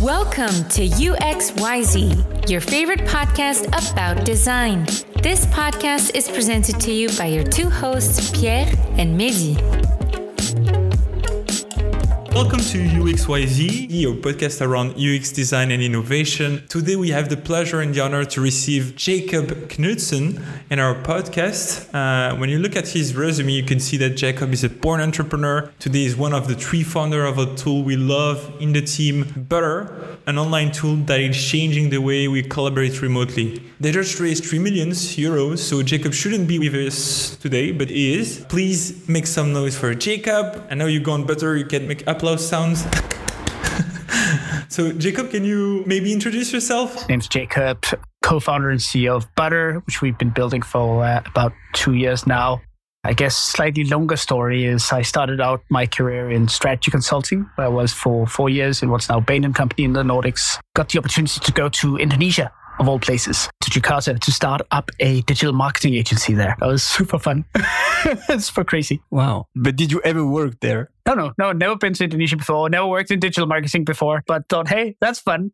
Welcome to UXYZ, your favorite podcast about design. This podcast is presented to you by your two hosts, Pierre and Mehdi. Welcome to UXYZ, your podcast around UX design and innovation. Today we have the pleasure and the honor to receive Jacob Knudsen in our podcast. When you look at his resume, you can see that Jacob is a born entrepreneur. Today he's one of the three founders of a tool we love in the team, Butter, an online tool that is changing the way we collaborate remotely. They just raised 3 million euros, so Jacob shouldn't be with us today, but he is. Please make some noise for Jacob. I know you go on Butter, you can make applause sounds. So Jacob, can you maybe introduce yourself? My name's Jacob, co-founder and CEO of Butter, which we've been building for about 2 years now. I guess slightly longer story is I started out my career in strategy consulting, where I was for 4 years in what's now Bain & Company in the Nordics. Got the opportunity to go to Indonesia, of all places, to Jakarta to start up a digital marketing agency there. That was super fun. It's super crazy. Wow. But did you ever work there? No, never been to Indonesia before, never worked in digital marketing before, but thought, hey, that's fun.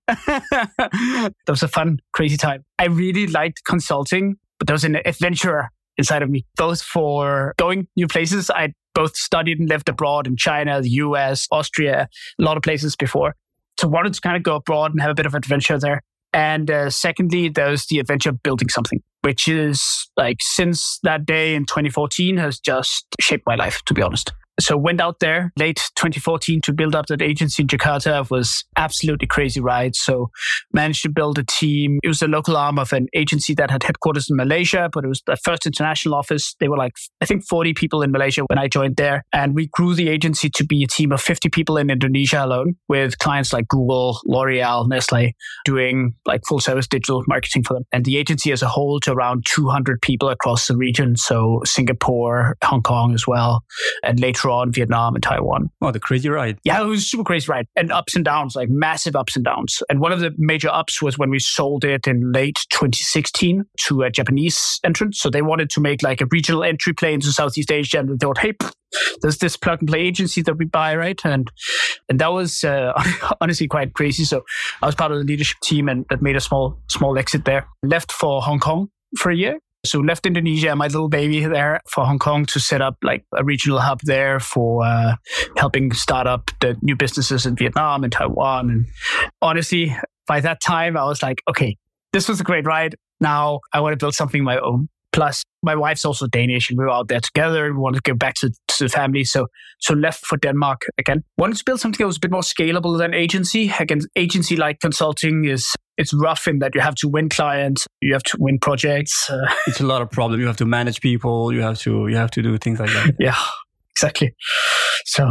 That was a fun, crazy time. I really liked consulting, but there was an adventurer inside of me, both for going new places. I both studied and lived abroad in China, the US, Austria, a lot of places before. So wanted to kind of go abroad and have a bit of adventure there. And secondly, there's the adventure of building something, which is like since that day in 2014 has just shaped my life, to be honest. So went out there late 2014 to build up that agency in Jakarta. It was absolutely crazy ride. So managed to build a team. It was a local arm of an agency that had headquarters in Malaysia, but it was the first international office. They were like, I think 40 people in Malaysia when I joined there. And we grew the agency to be a team of 50 people in Indonesia alone, with clients like Google, L'Oreal, Nestle, doing like full service digital marketing for them. And the agency as a whole to around 200 people across the region. So Singapore, Hong Kong as well. And later on, Vietnam and Taiwan. Oh, the crazy ride. Yeah, it was a super crazy ride. And ups and downs, like massive ups and downs. And one of the major ups was when we sold it in late 2016 to a Japanese entrant. So they wanted to make like a regional entry play into Southeast Asia. And they thought, hey, there's this plug and play agency that we buy, right? And that was honestly quite crazy. So I was part of the leadership team and that made a small exit there. Left for Hong Kong for a year. So left Indonesia, my little baby there, for Hong Kong to set up like a regional hub there for helping start up the new businesses in Vietnam and Taiwan. And honestly, by that time, I was like, okay, this was a great ride. Now I want to build something of my own. Plus, my wife's also Danish and we were out there together. We wanted to go back to the family. So left for Denmark again. Wanted to build something that was a bit more scalable than agency. Again, agency-like consulting it's rough in that you have to win clients, you have to win projects. It's a lot of problem. You have to manage people. You have to do things like that. Yeah, exactly. So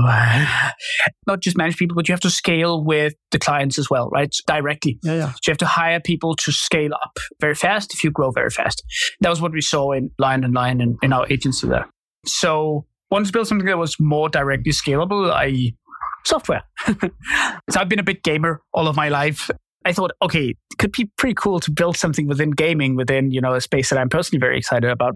not just manage people, but you have to scale with the clients as well, right? Directly. Yeah. So you have to hire people to scale up very fast if you grow very fast. That was what we saw in Lion & Lion and in our agency there. So wanted to build something that was more directly scalable, i.e. software. So I've been a big gamer all of my life. I thought, okay, it could be pretty cool to build something within gaming, within, a space that I'm personally very excited about.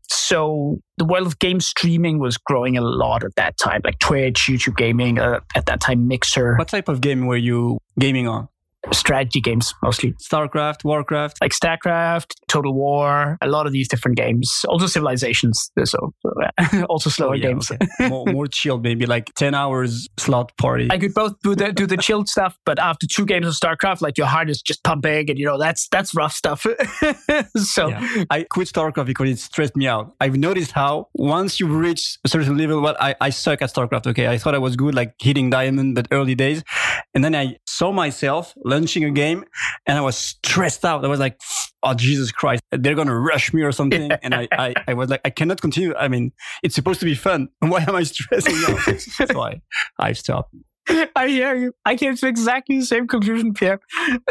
So the world of game streaming was growing a lot at that time, like Twitch, YouTube gaming, at that time Mixer. What type of game were you gaming on? Strategy games, mostly. StarCraft, Warcraft? Like StarCraft, Total War, a lot of these different games. Also Civilizations, so also slower games. Okay. more chilled, maybe like 10 hours slot party. I could both do the chilled stuff, but after 2 games of StarCraft, like your heart is just pumping and that's rough stuff. So yeah. I quit StarCraft because it stressed me out. I've noticed how once you reach a certain level, I suck at StarCraft, okay? I thought I was good, like hitting diamond, but early days. And then I saw myself launching a game and I was stressed out. I was like, oh, Jesus Christ, they're going to rush me or something. And I was like, I cannot continue. I mean, it's supposed to be fun. Why am I stressing out? That's why I stopped. I hear you. I came to exactly the same conclusion, Pierre.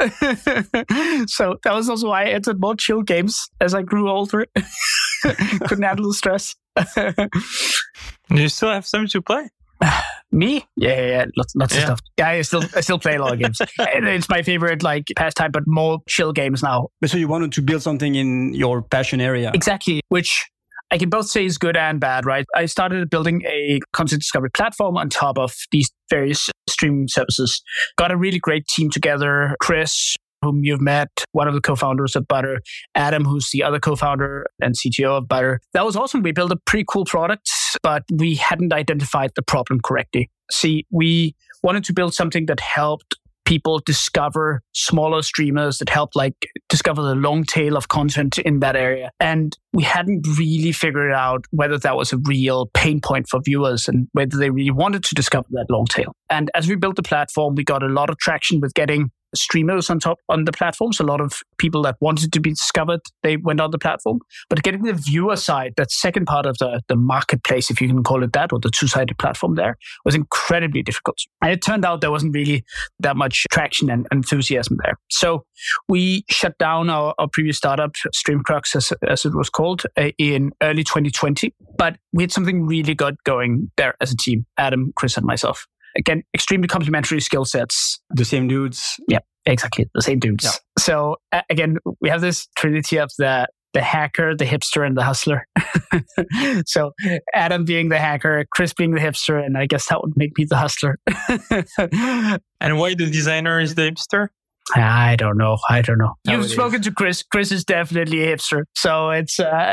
So that was also why I entered more chill games as I grew older. Couldn't handle the stress. Do you still have something to play? Me? Yeah. Lots of stuff. Yeah, I still play a lot of games. It's my favorite pastime, but more chill games now. But so you wanted to build something in your passion area. Exactly, which I can both say is good and bad, right? I started building a content discovery platform on top of these various streaming services. Got a really great team together. Chris, whom you've met, one of the co-founders of Butter, Adam, who's the other co-founder and CTO of Butter. That was awesome. We built a pretty cool product, but we hadn't identified the problem correctly. See, we wanted to build something that helped people discover smaller streamers, that helped discover the long tail of content in that area. And we hadn't really figured out whether that was a real pain point for viewers and whether they really wanted to discover that long tail. And as we built the platform, we got a lot of traction with getting streamers on the platforms. A lot of people that wanted to be discovered, they went on the platform. But getting the viewer side, that second part of the marketplace, if you can call it that, or the two-sided platform there, was incredibly difficult. And it turned out there wasn't really that much traction and enthusiasm there. So we shut down our previous startup, Streamcrux, as it was called, in early 2020. But we had something really good going there as a team, Adam, Chris, and myself. Again, extremely complementary skill sets. The same dudes. Yeah, exactly. The same dudes. Yeah. So again, we have this trinity of the hacker, the hipster, and the hustler. So Adam being the hacker, Chris being the hipster, and I guess that would make me the hustler. And why the designer is the hipster? I don't know. You've spoken to Chris. Chris is definitely a hipster. So it's...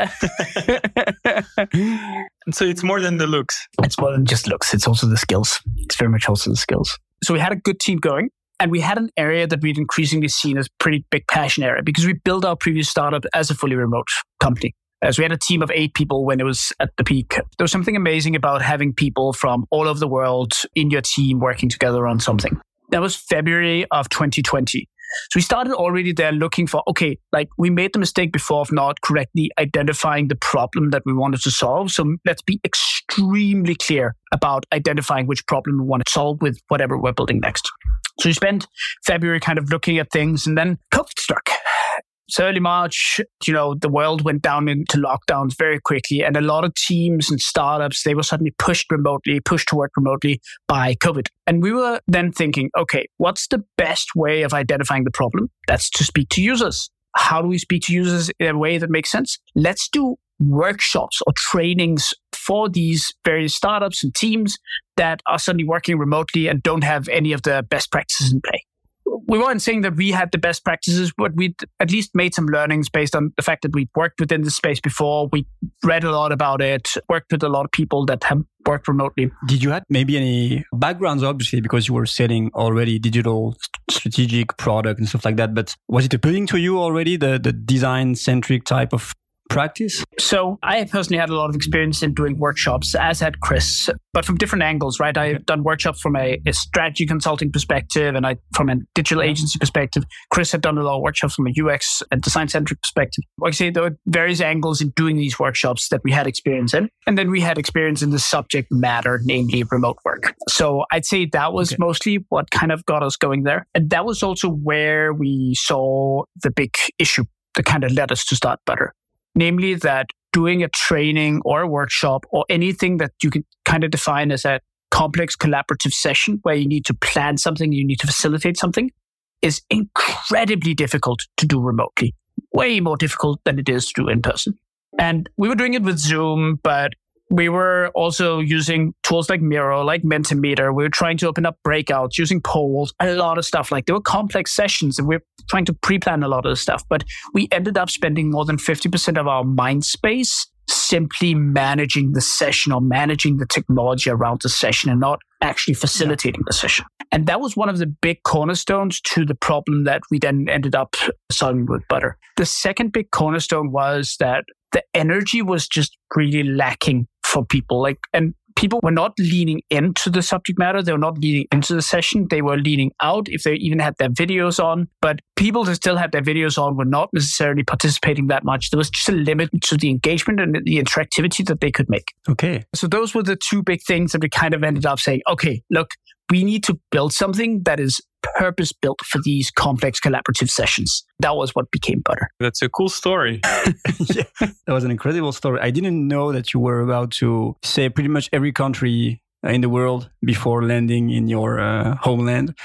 So it's more than the looks. It's more than just looks. It's also the skills. It's very much also the skills. So we had a good team going. And we had an area that we'd increasingly seen as pretty big passion area because we built our previous startup as a fully remote company. So we had a team of 8 people when it was at the peak. There was something amazing about having people from all over the world in your team working together on something. That was February of 2020. So we started already there looking for, we made the mistake before of not correctly identifying the problem that we wanted to solve. So let's be extremely clear about identifying which problem we want to solve with whatever we're building next. So we spent February kind of looking at things, and then COVID struck. So early March, the world went down into lockdowns very quickly, and a lot of teams and startups, they were suddenly pushed to work remotely by COVID. And we were then thinking, okay, what's the best way of identifying the problem? That's to speak to users. How do we speak to users in a way that makes sense? Let's do workshops or trainings for these various startups and teams that are suddenly working remotely and don't have any of the best practices in play. We weren't saying that we had the best practices, but we'd at least made some learnings based on the fact that we'd worked within this space before. We read a lot about it, worked with a lot of people that have worked remotely. Did you have maybe any backgrounds, obviously, because you were selling already digital strategic product and stuff like that, but was it appealing to you already, the design-centric type of practice? So I personally had a lot of experience in doing workshops, as had Chris, but from different angles, right? I've done workshops from a strategy consulting perspective and from a digital agency perspective. Chris had done a lot of workshops from a UX and design-centric perspective. Like I say, there were various angles in doing these workshops that we had experience in. And then we had experience in the subject matter, namely remote work. So I'd say that was mostly what kind of got us going there. And that was also where we saw the big issue that kind of led us to start Butter. Namely that doing a training or a workshop or anything that you can kind of define as a complex collaborative session where you need to plan something, you need to facilitate something, is incredibly difficult to do remotely. Way more difficult than it is to do in person. And we were doing it with Zoom, but we were also using tools like Miro, like Mentimeter. We were trying to open up breakouts, using polls, a lot of stuff. There were complex sessions and we were trying to pre-plan a lot of the stuff. But we ended up spending more than 50% of our mind space simply managing the session or managing the technology around the session and not actually facilitating the session. And that was one of the big cornerstones to the problem that we then ended up solving with Butter. The second big cornerstone was that the energy was just really lacking for people. And people were not leaning into the subject matter. They were not leaning into the session. They were leaning out if they even had their videos on. But people that still had their videos on were not necessarily participating that much. There was just a limit to the engagement and the interactivity that they could make. Okay. So those were the two big things that we kind of ended up saying, okay, look, we need to build something that is purpose-built for these complex collaborative sessions. That was what became Butter. That's a cool story. Yeah, that was an incredible story. I didn't know that you were about to say pretty much every country in the world before landing in your homeland.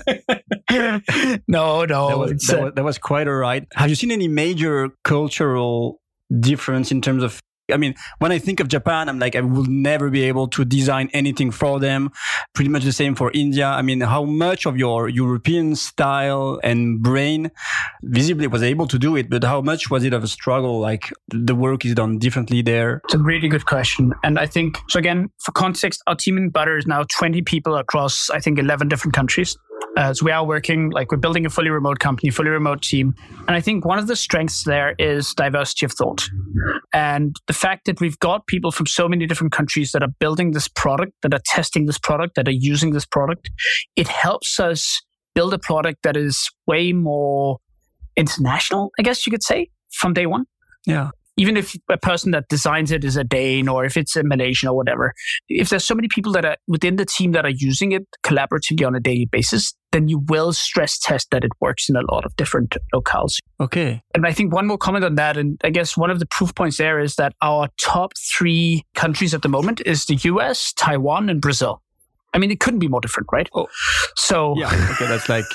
No. That was quite all right. Have you seen any major cultural difference in terms of I mean, when I think of Japan, I'm like, I will never be able to design anything for them. Pretty much the same for India. I mean, how much of your European style and brain visibly was able to do it, but how much was it of a struggle? Like the work is done differently there? It's a really good question. And I think, so again, for context, our team in Butter is now 20 people across, I think, 11 different countries. So we are working, like we're building a fully remote company, fully remote team. And I think one of the strengths there is diversity of thought. And the fact that we've got people from so many different countries that are building this product, that are testing this product, that are using this product, it helps us build a product that is way more international, I guess you could say, from day one. Yeah. Even if a person that designs it is a Dane or if it's a Malaysian or whatever, if there's so many people that are within the team that are using it collaboratively on a daily basis, then you will stress test that it works in a lot of different locales. Okay. And I think one more comment on that, and I guess one of the proof points there is that our top 3 countries at the moment is the US, Taiwan, and Brazil. I mean, it couldn't be more different, right? Oh, so yeah. Okay, that's like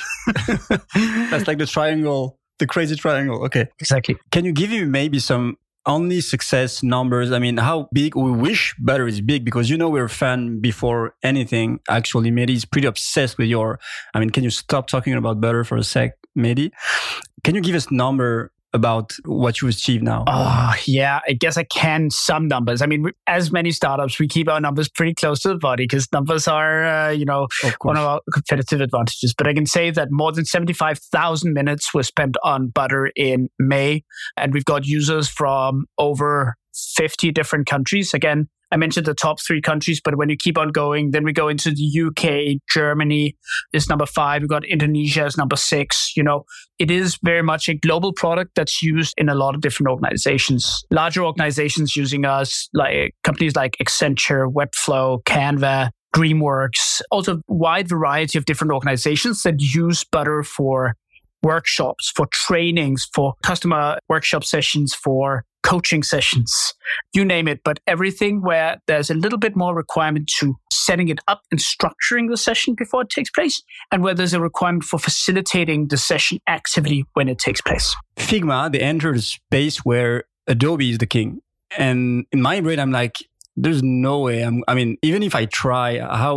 the triangle, the crazy triangle. Okay, exactly. Can you give me maybe some only success numbers? I mean, how big we wish Butter is big, because we're a fan before anything. Actually, Mehdi is pretty obsessed with can you stop talking about Butter for a sec, Mehdi? Can you give us number about what you achieve now? Oh, yeah, I guess I can some numbers. I mean, as many startups, we keep our numbers pretty close to the body because numbers are, one of our competitive advantages. But I can say that more than 75,000 minutes were spent on Butter in May. And we've got users from over 50 different countries. Again, I mentioned the top 3 countries, but when you keep on going, then we go into the UK, Germany is number 5. We've got Indonesia as number 6. It is very much a global product that's used in a lot of different organizations. Larger organizations using us, like companies like Accenture, Webflow, Canva, DreamWorks, also a wide variety of different organizations that use Butter for workshops, for trainings, for customer workshop sessions, for coaching sessions, you name it, but everything where there's a little bit more requirement to setting it up and structuring the session before it takes place, and where there's a requirement for facilitating the session actively when it takes place. Figma, they entered a space where Adobe is the king. And in my brain, I'm like, there's no way. Even if I try,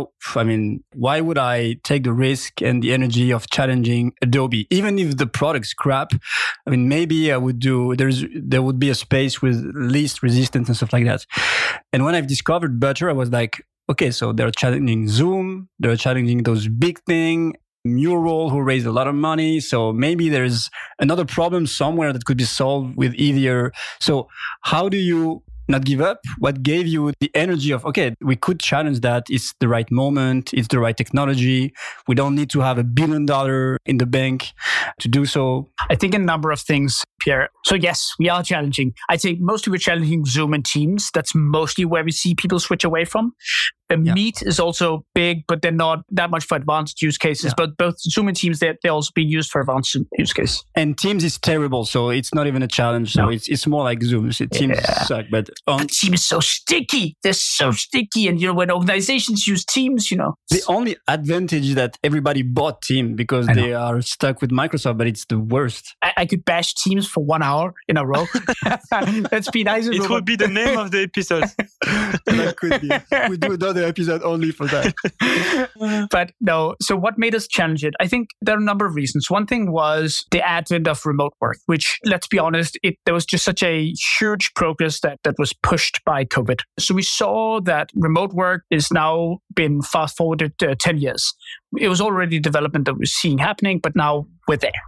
why would I take the risk and the energy of challenging Adobe? Even if the product's crap, maybe I would there would be a space with least resistance and stuff like that. And when I've discovered Butter, I was like, okay, so they're challenging Zoom, they're challenging those big things, Mural, who raised a lot of money. So maybe there's another problem somewhere that could be solved with easier. So how do you not give up? What gave you the energy of, okay, we could challenge that. It's the right moment. It's the right technology. We don't need to have $1 billion in the bank to do so. I think a number of things, Pierre. So yes, we are challenging. I'd say mostly we're challenging Zoom and Teams. That's mostly where we see people switch away from. Meet is also big, but they're not that much for advanced use cases. Yeah. But both Zoom and Teams, they're also being used for advanced use cases. And Teams is terrible, so it's not even a challenge. So it's more like Zoom. So Teams suck, but Teams is so sticky. They're so sticky, and when organizations use Teams, the only advantage is that everybody bought Teams because they are stuck with Microsoft, but it's the worst. I could bash Teams for 1 hour in a row. Let's be nice. It would be the name of the episode. That could be. We do another episode only for that. But no, so what made us challenge it? I think there are a number of reasons. One thing was the advent of remote work, which, let's be honest, there was just such a huge progress that was pushed by COVID. So we saw that remote work is now been fast forwarded 10 years. It was already development that we're seeing happening, but now we're there.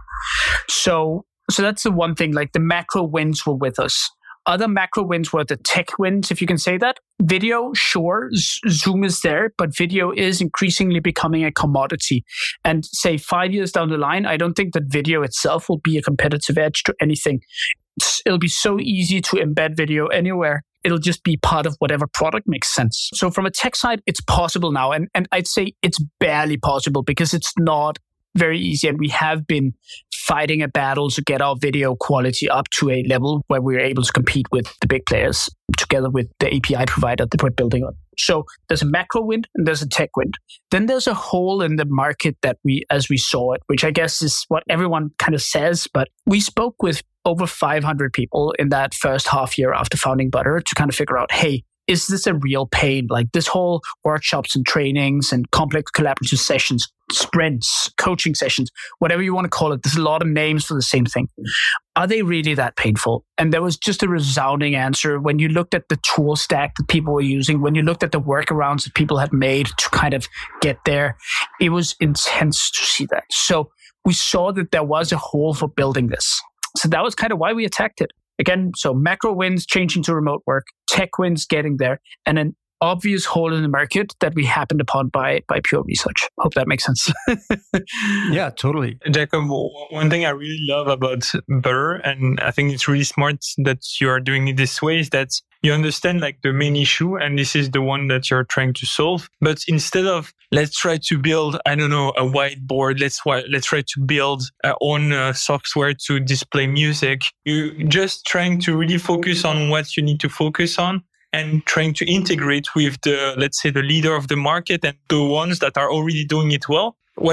So that's the one thing, like the macro wins were with us. Other macro wins were the tech wins, if you can say that. Video, sure, Zoom is there, but video is increasingly becoming a commodity. And say 5 years down the line, I don't think that video itself will be a competitive edge to anything. It'll be so easy to embed video anywhere. It'll just be part of whatever product makes sense. So from a tech side, it's possible now. And I'd say it's barely possible because it's not very easy. And we have been fighting a battle to get our video quality up to a level where we're able to compete with the big players together with the API provider that we're building on. So there's a macro wind and there's a tech wind. Then there's a hole in the market that as we saw it, which I guess is what everyone kind of says, but we spoke with over 500 people in that first half year after founding Butter to kind of figure out, hey, is this a real pain? Like this whole workshops and trainings and complex collaborative sessions, sprints, coaching sessions, whatever you want to call it. There's a lot of names for the same thing. Are they really that painful? And there was just a resounding answer when you looked at the tool stack that people were using, when you looked at the workarounds that people had made to kind of get there. It was intense to see that. So we saw that there was a hole for building this. So that was kind of why we attacked it. Again, so macro wins changing to remote work, tech wins getting there, and an obvious hole in the market that we happened upon by pure research. Hope that makes sense. Yeah, totally. Jacob, one thing I really love about Butter, and I think it's really smart that you are doing it this way, is that you understand like the main issue, and this is the one that you're trying to solve. But instead of let's try to build, I don't know, a whiteboard, let's try to build our own software to display music, you're just trying to really focus on what you need to focus on and trying to integrate with the, let's say, the leader of the market and the ones that are already doing it well.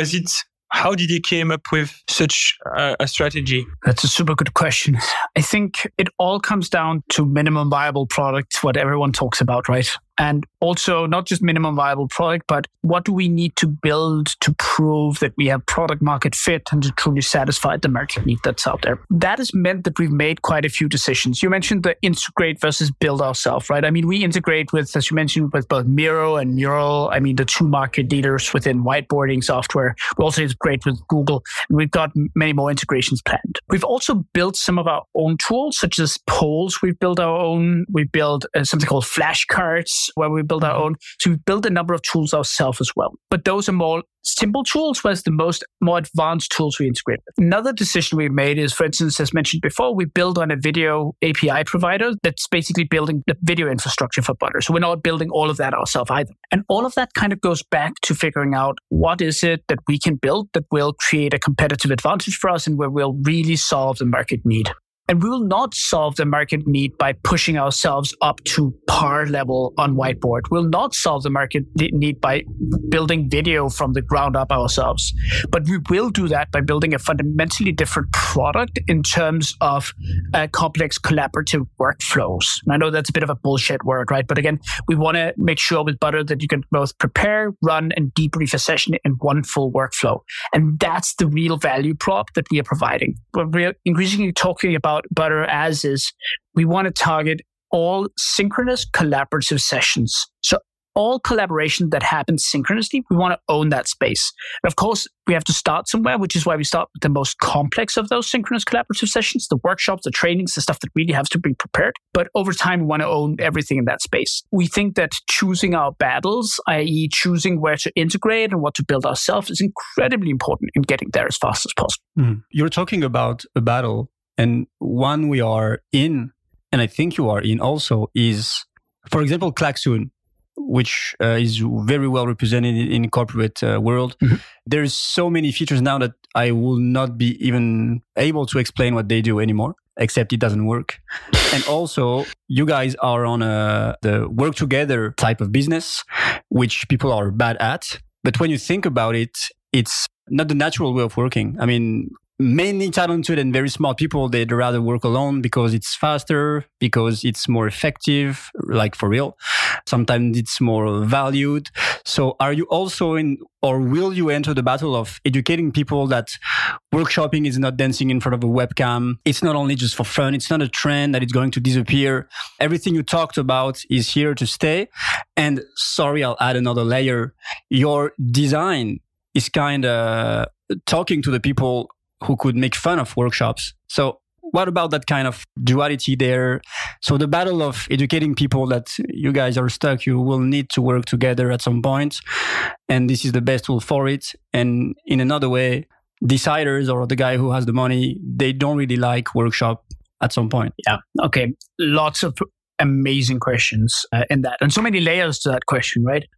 How did you came up with such a strategy? That's a super good question. I think it all comes down to minimum viable product, what everyone talks about, right? And also not just minimum viable product, but what do we need to build to prove that we have product market fit and to truly satisfy the market need that's out there. That has meant that we've made quite a few decisions. You mentioned the integrate versus build ourselves, right? I mean, we integrate with, as you mentioned, with both Miro and Mural. I mean, the two market leaders within whiteboarding software. We also integrate with Google, and we've got many more integrations planned. We've also built some of our own tools, such as polls. We've built our own. We built something called flashcards, where we build our own. So we built a number of tools ourselves as well. But those are more simple tools, whereas the more advanced tools we integrate with. Another decision we made is, for instance, as mentioned before, we build on a video API provider that's basically building the video infrastructure for Butter. So we're not building all of that ourselves either. And all of that kind of goes back to figuring out what is it that we can build that will create a competitive advantage for us and where we'll really solve the market need. And we will not solve the market need by pushing ourselves up to par level on whiteboard. We'll not solve the market need by building video from the ground up ourselves. But we will do that by building a fundamentally different product in terms of complex collaborative workflows. And I know that's a bit of a bullshit word, right? But again, we want to make sure with Butter that you can both prepare, run, and debrief a session in one full workflow. And that's the real value prop that we are providing. We're increasingly talking about Butter as is, we want to target all synchronous collaborative sessions. So all collaboration that happens synchronously, we want to own that space. And of course, we have to start somewhere, which is why we start with the most complex of those synchronous collaborative sessions, the workshops, the trainings, the stuff that really has to be prepared. But over time, we want to own everything in that space. We think that choosing our battles, i.e. choosing where to integrate and what to build ourselves, is incredibly important in getting there as fast as possible. You're talking about a battle. And one we are in, and I think you are in also, is, for example, Klaxoon, which is very well represented in the corporate world. Mm-hmm. There's so many features now that I will not be even able to explain what they do anymore, except it doesn't work. And also, you guys are on the work together type of business, which people are bad at. But when you think about it, it's not the natural way of working. I mean, many talented and very smart people, they'd rather work alone because it's faster, because it's more effective, like for real. Sometimes it's more valued. So are you also in, or will you enter the battle of educating people that workshopping is not dancing in front of a webcam? It's not only just for fun. It's not a trend that it's going to disappear. Everything you talked about is here to stay. And sorry, I'll add another layer. Your design is kind of talking to the people who could make fun of workshops. So what about that kind of duality there? So the battle of educating people that you guys are stuck, you will need to work together at some point. And this is the best tool for it. And in another way, deciders or the guy who has the money, they don't really like workshop at some point. Yeah. Okay. Lots of amazing questions in that. And so many layers to that question, right?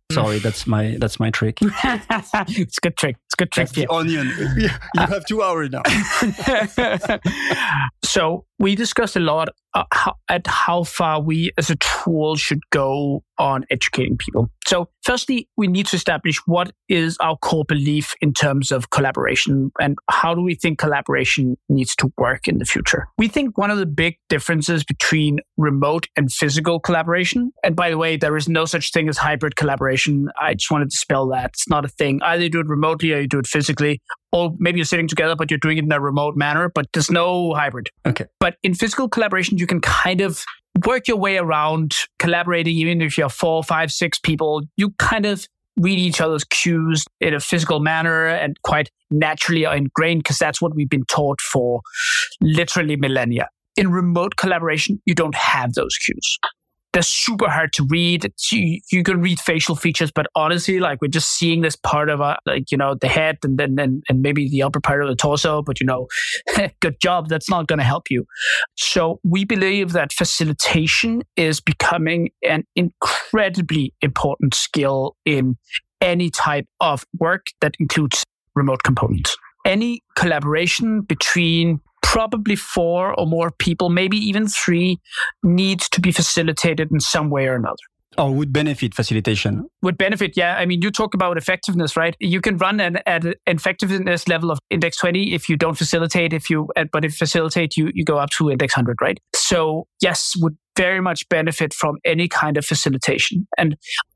Sorry, that's my trick. It's a good trick. It's a good trick. That's the onion. You have 2 hours now. So we discussed a lot how far we as a tool should go on educating people. So firstly, we need to establish what is our core belief in terms of collaboration and how do we think collaboration needs to work in the future. We think one of the big differences between remote and physical collaboration, and by the way, there is no such thing as hybrid collaboration. I just wanted to spell that. It's not a thing. Either you do it remotely or you do it physically, or maybe you're sitting together, but you're doing it in a remote manner, but there's no hybrid. Okay. But in physical collaboration, you can kind of work your way around collaborating, even if you're 4, 5, 6 people. You kind of read each other's cues in a physical manner and quite naturally are ingrained because that's what we've been taught for literally millennia. In remote collaboration, you don't have those cues. They're super hard to read. You can read facial features, but honestly, like we're just seeing this part of the head and then maybe the upper part of the torso, but good job. That's not going to help you. So we believe that facilitation is becoming an incredibly important skill in any type of work that includes remote components. Any collaboration between probably 4 or more people, maybe even 3, needs to be facilitated in some way or another. Or would benefit facilitation. Would benefit, yeah. I mean, you talk about effectiveness, right? You can run at an effectiveness level of index 20 if you don't facilitate. But if you facilitate, you go up to index 100, right? So yes, would very much benefit from any kind of facilitation. And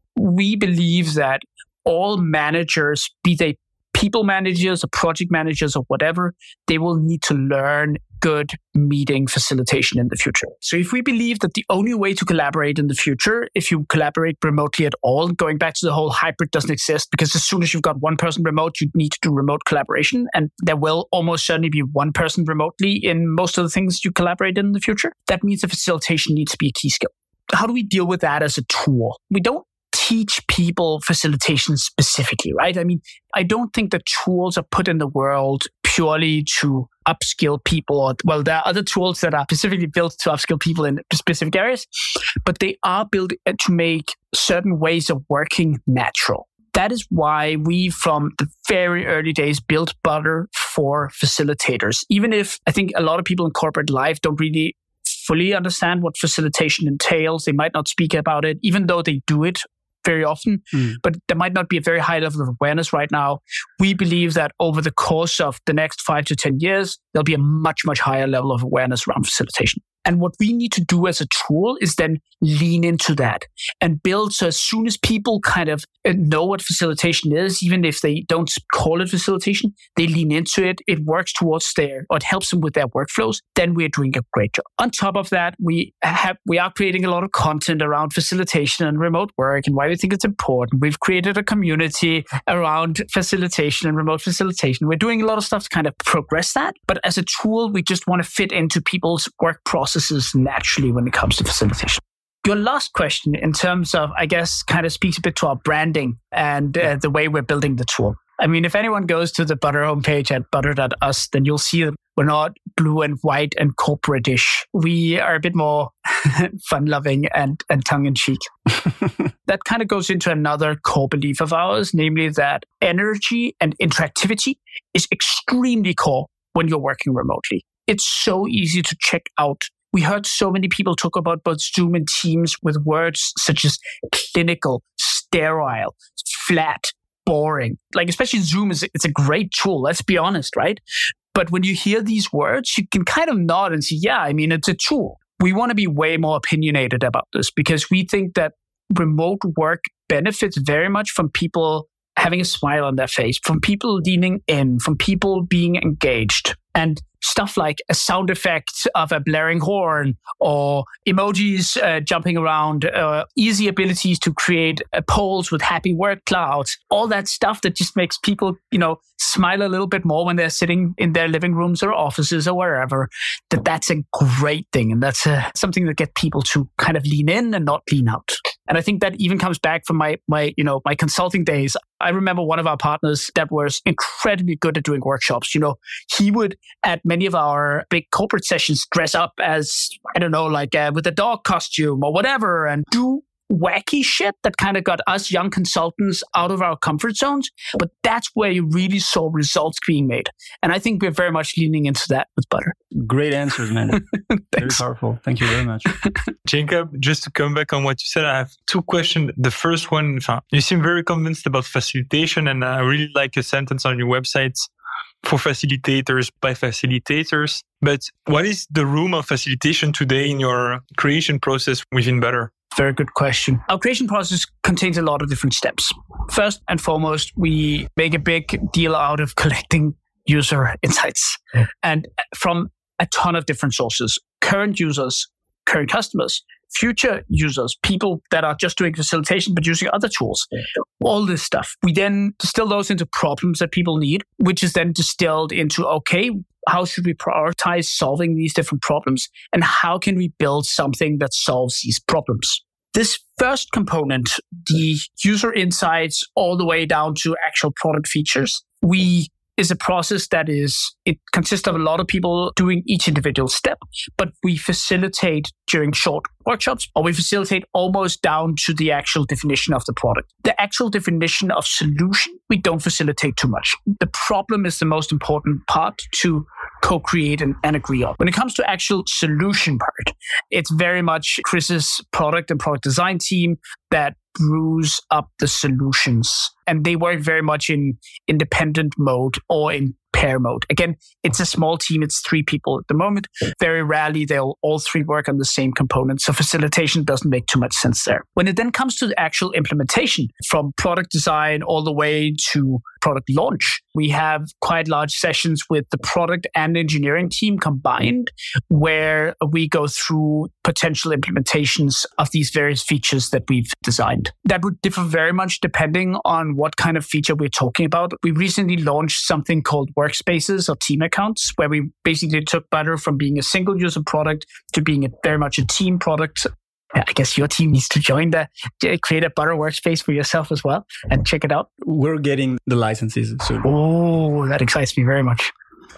we believe that all managers, be they people managers or project managers or whatever, they will need to learn good meeting facilitation in the future. So if we believe that the only way to collaborate in the future, if you collaborate remotely at all, going back to the whole hybrid doesn't exist, because as soon as you've got one person remote, you need to do remote collaboration. And there will almost certainly be one person remotely in most of the things you collaborate in the future. That means the facilitation needs to be a key skill. How do we deal with that as a tool? We don't teach people facilitation specifically, right? I mean, I don't think that tools are put in the world purely to upskill people. Well, there are other tools that are specifically built to upskill people in specific areas, but they are built to make certain ways of working natural. That is why we, from the very early days, built Butter for facilitators. Even if I think a lot of people in corporate life don't really fully understand what facilitation entails, they might not speak about it, even though they do it very often, but there might not be a very high level of awareness right now. We believe that over the course of the next 5 to 10 years, there'll be a much, much higher level of awareness around facilitation. And what we need to do as a tool is then lean into that and build. So as soon as people kind of know what facilitation is, even if they don't call it facilitation, they lean into it. It works towards or it helps them with their workflows. Then we're doing a great job. On top of that, we are creating a lot of content around facilitation and remote work and why we think it's important. We've created a community around facilitation and remote facilitation. We're doing a lot of stuff to kind of progress that. But as a tool, we just want to fit into people's work processes naturally when it comes to facilitation. Your last question in terms of, I guess, kind of speaks a bit to our branding and the way we're building the tool. I mean, if anyone goes to the Butter homepage at butter.us, then you'll see that we're not blue and white and corporate-ish. We are a bit more fun-loving and tongue-in-cheek. That kind of goes into another core belief of ours, namely that energy and interactivity is extremely core when you're working remotely. It's so easy to check out. We heard so many people talk about both Zoom and Teams with words such as clinical, sterile, flat, boring. Like, especially Zoom it's a great tool, let's be honest, right? But when you hear these words, you can kind of nod and say, yeah, I mean, it's a tool. We want to be way more opinionated about this because we think that remote work benefits very much from people having a smile on their face, from people leaning in, from people being engaged. And stuff like a sound effect of a blaring horn or emojis jumping around, easy abilities to create polls with happy word clouds, all that stuff that just makes people, smile a little bit more when they're sitting in their living rooms or offices or wherever, that's a great thing. And that's something that gets people to kind of lean in and not lean out. And I think that even comes back from my consulting days. I remember one of our partners that was incredibly good at doing workshops. He would, at many of our big corporate sessions, dress up as, with a dog costume or whatever, and do wacky shit that kind of got us young consultants out of our comfort zones. But that's where you really saw results being made. And I think we're very much leaning into that with Butter. Great answers, man. Very powerful. Thank you very much. Jacob, just to come back on what you said, I have two questions. The first one, you seem very convinced about facilitation, and I really like a sentence on your website, for facilitators by facilitators. But what is the room of facilitation today in your creation process within Butter? Very good question. Our creation process contains a lot of different steps. First and foremost, we make a big deal out of collecting user insights and from a ton of different sources. Current users, current customers, future users, people that are just doing facilitation but using other tools, all this stuff. We then distill those into problems that people need, which is then distilled into, okay, how should we prioritize solving these different problems? And how can we build something that solves these problems? This first component, the user insights all the way down to actual product features, is a process it consists of a lot of people doing each individual step, but we facilitate during short workshops, or we facilitate almost down to the actual definition of the product. The actual definition of solution, we don't facilitate too much. The problem is the most important part to co-create and agree on. When it comes to actual solution part, it's very much Chris's product and product design team that brews up the solutions. And they work very much in independent mode or in pair mode. Again, it's a small team. It's 3 people at the moment. Very rarely they'll all 3 work on the same component. So facilitation doesn't make too much sense there. When it then comes to the actual implementation, from product design all the way to product launch, we have quite large sessions with the product and engineering team combined, where we go through potential implementations of these various features that we've designed. That would differ very much depending on what kind of feature we're talking about. We recently launched something called workspaces or team accounts, where we basically took Butter from being a single user product to being very much a team product. I guess your team needs to create a Butter workspace for yourself as well and check it out. We're getting the licenses soon. Oh, that excites me very much.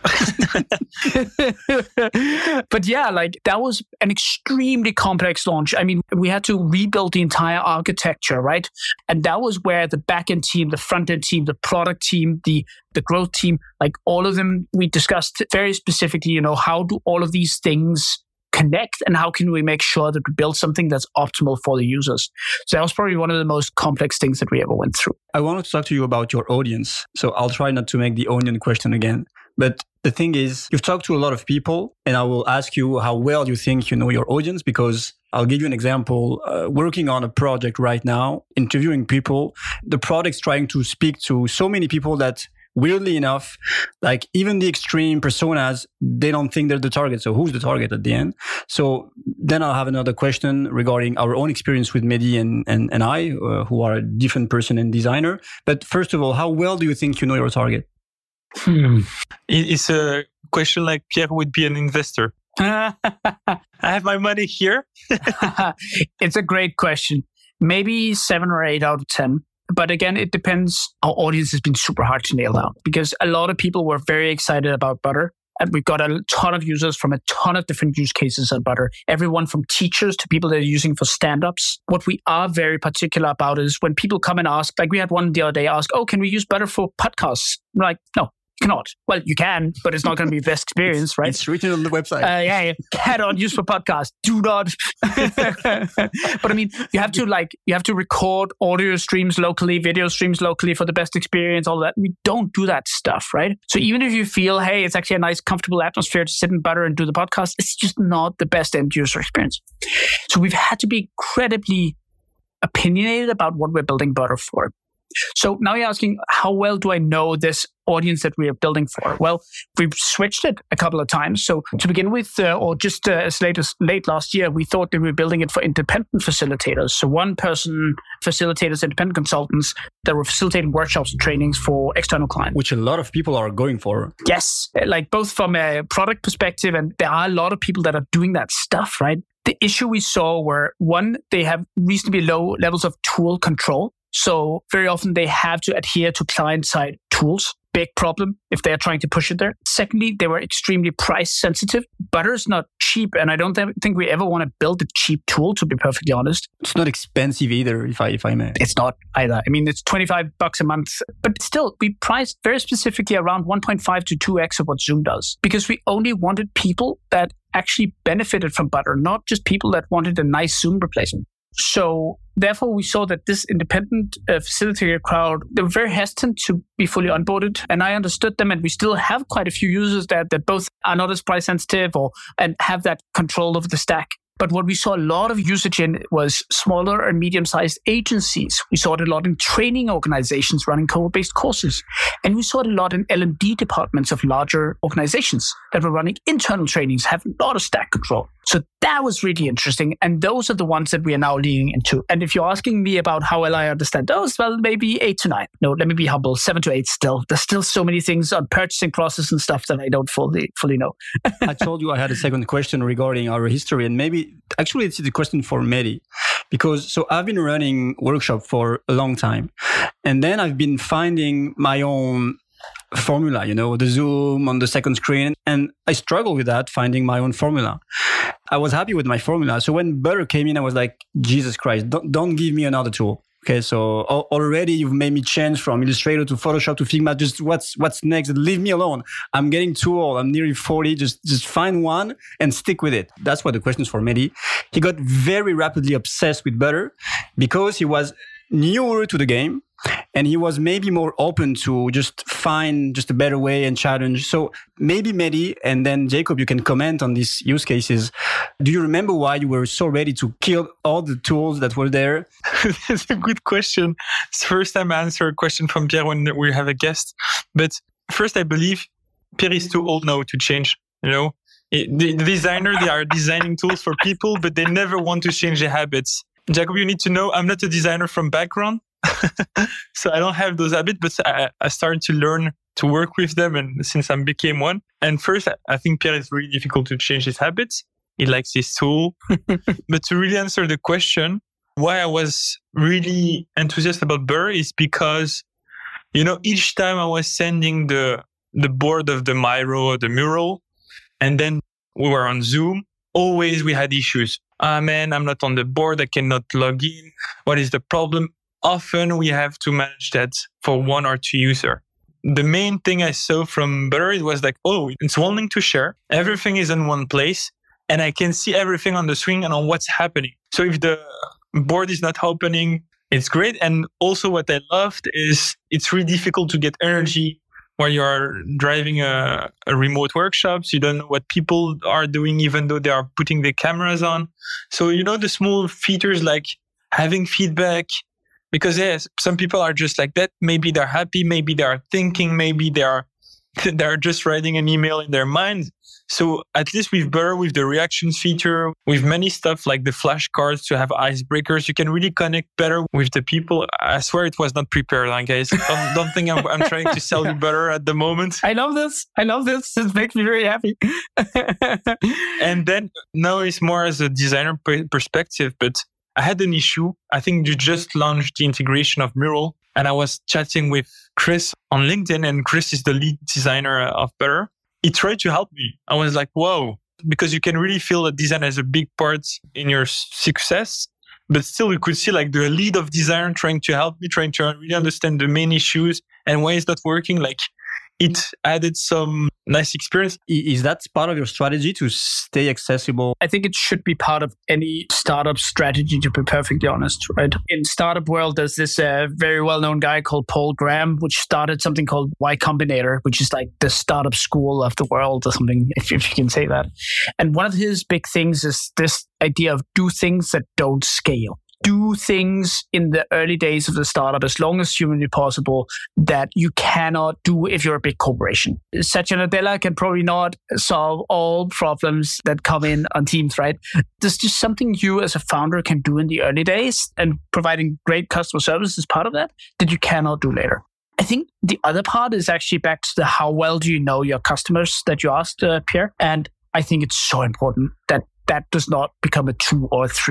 But yeah, that was an extremely complex launch. I mean, we had to rebuild the entire architecture, right? And that was where the backend team, the front-end team, the product team, the growth team, all of them, we discussed very specifically, how do all of these things connect and how can we make sure that we build something that's optimal for the users? So that was probably one of the most complex things that we ever went through. I wanted to talk to you about your audience. So I'll try not to make the onion question again. But the thing is, you've talked to a lot of people, and I will ask you how well you think you know your audience, because I'll give you an example. Working on a project right now, interviewing people, the product's trying to speak to so many people that, weirdly enough, even the extreme personas, they don't think they're the target. So who's the target at the end? So then I'll have another question regarding our own experience with Mehdi and I, who are a different person and designer. But first of all, how well do you think you know your target? It's a question like Pierre would be an investor. I have my money here. It's a great question. Maybe 7 or 8 out of 10. But again, it depends. Our audience has been super hard to nail down because a lot of people were very excited about Butter. And we've got a ton of users from a ton of different use cases on Butter. Everyone from teachers to people that are using for stand-ups. What we are very particular about is when people come and ask, we had one the other day ask, can we use Butter for podcasts? I'm like, no. You cannot. Well, you can, but it's not going to be the best experience, right? It's written on the website. Cannot use for podcast. Do not. But I mean, you have to record audio streams locally, video streams locally for the best experience, all that. We don't do that stuff, right? So even if you feel, hey, it's actually a nice, comfortable atmosphere to sit in Butter and do the podcast, it's just not the best end user experience. So we've had to be incredibly opinionated about what we're building Butter for. So now you're asking, how well do I know this audience that we are building for? Well, we've switched it a couple of times. So to begin with, or just as late last year, we thought that we were building it for independent facilitators. So one-person facilitators, independent consultants that were facilitating workshops and trainings for external clients. Which a lot of people are going for. Yes, both from a product perspective, and there are a lot of people that are doing that stuff, right? The issue we saw were, one, they have reasonably low levels of tool control. So very often they have to adhere to client-side tools. big problem if they're trying to push it there. Secondly, they were extremely price sensitive. Butter is not cheap, and I don't think we ever want to build a cheap tool, to be perfectly honest. It's not expensive either, if I may. It's not either. I mean, it's $25 a month, but still, we priced very specifically around 1.5 to 2x of what Zoom does, because we only wanted people that actually benefited from Butter, not just people that wanted a nice Zoom replacement. So therefore, we saw that this independent facilitator crowd, they were very hesitant to be fully onboarded. And I understood them. And we still have quite a few users that both are not as price sensitive and have that control of the stack. But what we saw a lot of usage in was smaller and medium-sized agencies. We saw it a lot in training organizations running co-based courses. And we saw it a lot in L&D departments of larger organizations that were running internal trainings, have a lot of stack control. So that was really interesting. And those are the ones that we are now leaning into. And if you're asking me about how well I understand those, well, maybe 8 to 9. No, let me be humble, 7 to 8 still. There's still so many things on purchasing process and stuff that I don't fully know. I told you I had a second question regarding our history, and maybe actually it's the question for Mehdi, because so I've been running workshop for a long time, and then I've been finding my own formula, the Zoom on the second screen, and I struggle with that, finding my own formula. I was happy with my formula. So when Butter came in, I was like, Jesus Christ, don't give me another tool. Okay, so already you've made me change from Illustrator to Photoshop to Figma. Just what's next? Leave me alone. I'm getting too old. I'm nearly 40. Just find one and stick with it. That's what the question is for Mehdi. He got very rapidly obsessed with Butter because he was newer to the game and he was maybe more open to just find just a better way and challenge. So maybe Mehdi and then Jacob, you can comment on these use cases. Do you remember why you were so ready to kill all the tools that were there? That's a good question. It's the first time I answer a question from Pierre when we have a guest. But first, I believe Pierre is too old now to change. The designer, they are designing tools for people, but they never want to change their habits. Jacob, you need to know I'm not a designer from background. So I don't have those habits, but I started to learn to work with them, and since I became one. And first, I think Pierre is really difficult to change his habits. He likes his tool. But to really answer the question, why I was really enthusiastic about Butter is because, each time I was sending the board of the Miro or the mural, and then we were on Zoom, always we had issues. Man, I'm not on the board. I cannot log in. What is the problem? Often we have to manage that for 1 or 2 users. The main thing I saw from Butter, it was like, it's one link to share. Everything is in one place and I can see everything on the screen and on what's happening. So if the board is not opening, it's great. And also what I loved is it's really difficult to get energy while you are driving a remote workshops. You don't know what people are doing, even though they are putting the cameras on. So, the small features like having feedback, because yes, some people are just like that. Maybe they're happy, maybe they are thinking, maybe they're just writing an email in their mind. So at least with Butter, with the reactions feature, with many stuff like the flashcards to have icebreakers, you can really connect better with the people. I swear it was not prepared, guys. Don't think I'm trying to sell you Butter at the moment. I love this. It makes me very happy. And then now it's more as a designer perspective, but I had an issue. I think you just launched the integration of Mural, and I was chatting with Chris on LinkedIn, and Chris is the lead designer of Butter. He tried to help me. I was like, whoa, because you can really feel that design has a big part in your success, but still you could see like the lead of design trying to help me, trying to really understand the main issues and why it's not working. Like it added some nice experience. Is that part of your strategy to stay accessible? I think it should be part of any startup strategy, to be perfectly honest, right? In startup world, there's this very well-known guy called Paul Graham, which started something called Y Combinator, which is like the startup school of the world or something, if you can say that. And one of his big things is this idea of do things that don't scale. Do things in the early days of the startup as long as humanly possible that you cannot do if you're a big corporation. Satya Nadella can probably not solve all problems that come in on Teams, right? There's just something you as a founder can do in the early days, and providing great customer service is part of that you cannot do later. I think the other part is actually back to the how well do you know your customers that you asked, Pierre. And I think it's so important that does not become a 2 or 3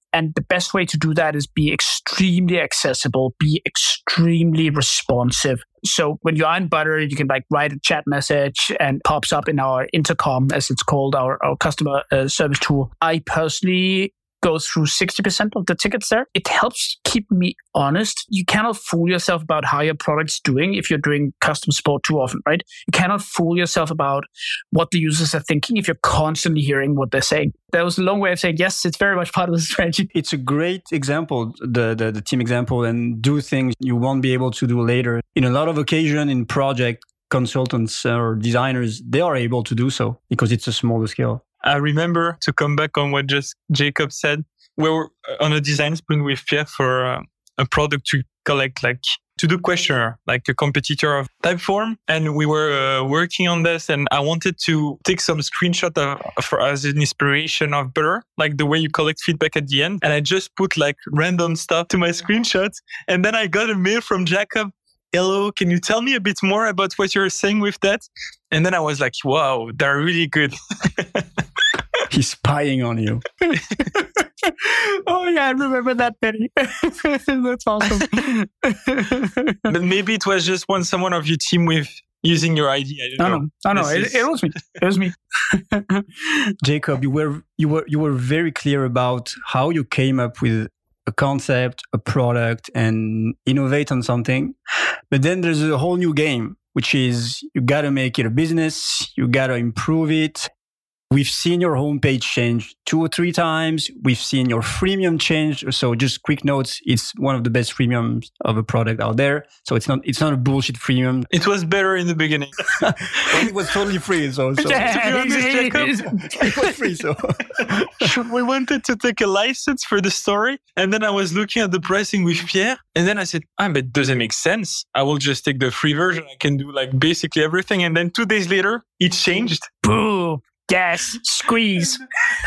And the best way to do that is be extremely accessible, be extremely responsive. So when you're in Butter, you can like write a chat message and pops up in our intercom, as it's called, our customer service tool. I personally go through 60% of the tickets there. It helps keep me honest. You cannot fool yourself about how your product's doing if you're doing customer support too often, right? You cannot fool yourself about what the users are thinking if you're constantly hearing what they're saying. That was a long way of saying, yes, it's very much part of the strategy. It's a great example, the team example, and do things you won't be able to do later. In a lot of occasions in project, consultants or designers, they are able to do so because it's a smaller scale. I remember, to come back on what just Jacob said, we were on a design sprint with Pierre for a product to collect, like to do questionnaire, like a competitor of Typeform. And we were working on this, and I wanted to take some screenshot as an inspiration of Butter, like the way you collect feedback at the end. And I just put like random stuff to my screenshots. And then I got a mail from Jacob. Hello, can you tell me a bit more about what you're saying with that? And then I was like, wow, they're really good. He's spying on you. Oh yeah, I remember that, Penny. That's awesome. But maybe it was just someone of your team with using your ID. I don't know. It was me. It was me. Jacob, you were very clear about how you came up with a concept, a product, and innovate on something. But then there's a whole new game, which is you got to make it a business. You got to improve it. We've seen your homepage change 2 or 3 times. We've seen your freemium change. So just quick notes, it's one of the best freemiums of a product out there. So it's not a bullshit freemium. It was better in the beginning. It was totally free. So Yeah, it was free. So we wanted to take a license for the story. And then I was looking at the pricing with Pierre. And then I said, but it doesn't make sense. I will just take the free version. I can do like basically everything. And then 2 days later, it changed. Boom. Yes, squeeze.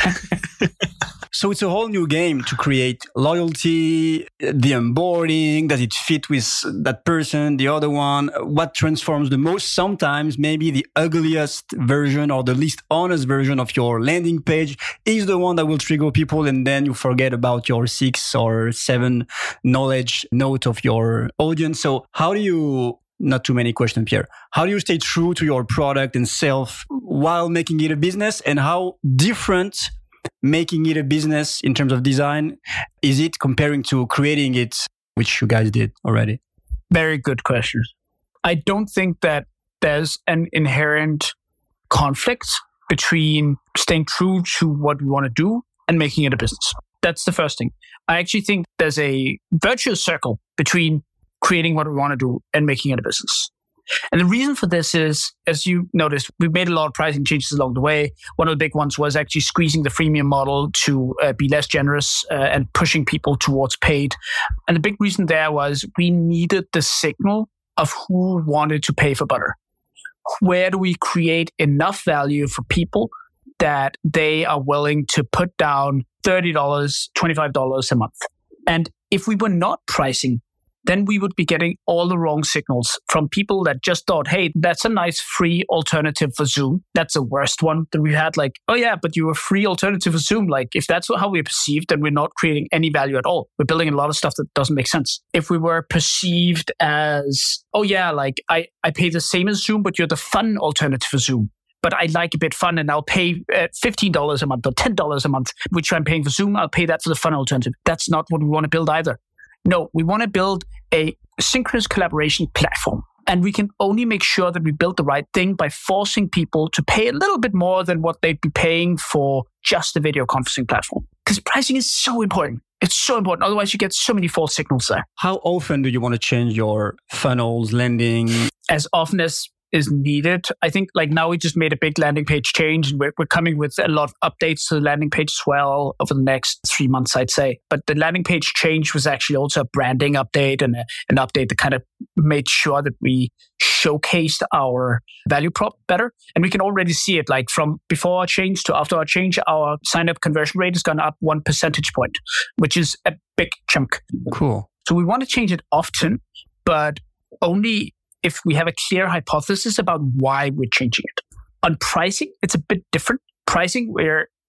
So it's a whole new game to create loyalty, the onboarding, does it fit with that person, the other one? What transforms the most? Sometimes maybe the ugliest version or the least honest version of your landing page is the one that will trigger people, and then you forget about your 6 or 7 knowledge note of your audience. So how do you... Not too many questions, Pierre. How do you stay true to your product and self while making it a business? And how different making it a business in terms of design is it comparing to creating it, which you guys did already? Very good question. I don't think that there's an inherent conflict between staying true to what we want to do and making it a business. That's the first thing. I actually think there's a virtuous circle between creating what we want to do and making it a business. And the reason for this is, as you noticed, we've made a lot of pricing changes along the way. One of the big ones was actually squeezing the freemium model to be less generous and pushing people towards paid. And the big reason there was we needed the signal of who wanted to pay for Butter. Where do we create enough value for people that they are willing to put down $30, $25 a month? And if we were not pricing, then we would be getting all the wrong signals from people that just thought, hey, that's a nice free alternative for Zoom. That's the worst one that we had. Like, oh yeah, but you're a free alternative for Zoom. Like, if that's how we're perceived, then we're not creating any value at all. We're building a lot of stuff that doesn't make sense. If we were perceived as, oh yeah, like I pay the same as Zoom, but you're the fun alternative for Zoom. But I like a bit fun and I'll pay $15 a month or $10 a month, which I'm paying for Zoom. I'll pay that for the fun alternative. That's not what we want to build either. No, we want to build a synchronous collaboration platform. And we can only make sure that we build the right thing by forcing people to pay a little bit more than what they'd be paying for just a video conferencing platform. Because pricing is so important. It's so important. Otherwise, you get so many false signals there. How often do you want to change your funnels, landing? As often as is needed. I think like now we just made a big landing page change and we're coming with a lot of updates to the landing page as well over the next 3 months, I'd say. But the landing page change was actually also a branding update and an update that kind of made sure that we showcased our value prop better. And we can already see it like from before our change to after our change, our sign-up conversion rate has gone up 1 percentage point, which is a big chunk. Cool. So we want to change it often, but only if we have a clear hypothesis about why we're changing it. On pricing, it's a bit different. Pricing, we're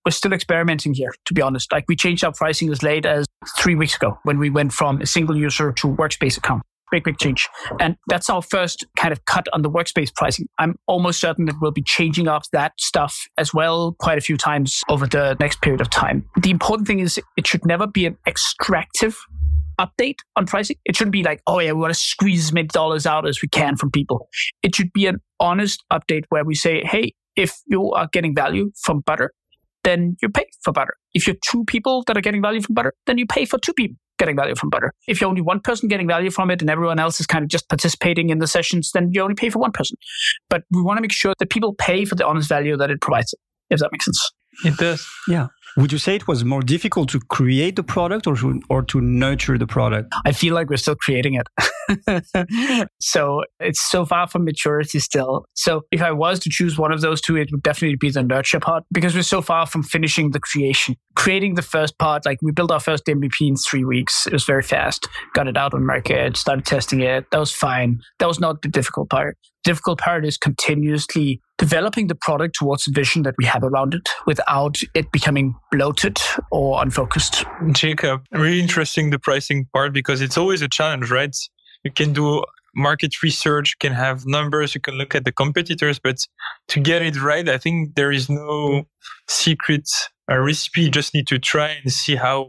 we're still experimenting here, to be honest. Like we changed our pricing as late as 3 weeks ago when we went from a single user to workspace account. Big change. And that's our first kind of cut on the workspace pricing. I'm almost certain that we'll be changing up that stuff as well quite a few times over the next period of time. The important thing is it should never be an extractive update on pricing. It shouldn't be like, oh yeah, we want to squeeze as many dollars out as we can from people. It should be an honest update where we say, hey, if you are getting value from butter, then you pay for butter. If you're 2 people that are getting value from butter, then you pay for 2 people getting value from butter. If you're only 1 person getting value from it and everyone else is kind of just participating in the sessions, then you only pay for 1 person. But we want to make sure that people pay for the honest value that it provides, if that makes sense. It does. Yeah. Would you say it was more difficult to create the product or to nurture the product? I feel like we're still creating it. So it's so far from maturity still. So if I was to choose one of those two, it would definitely be the nurture part because we're so far from finishing the creation. Creating the first part, like we built our first MVP in 3 weeks. It was very fast. Got it out on market, started testing it. That was fine. That was not the difficult part. The difficult part is continuously developing the product towards the vision that we have around it without it becoming bloated or unfocused. Jacob, really interesting the pricing part because it's always a challenge, right? You can do market research, you can have numbers, you can look at the competitors, but to get it right, I think there is no secret recipe. You just need to try and see how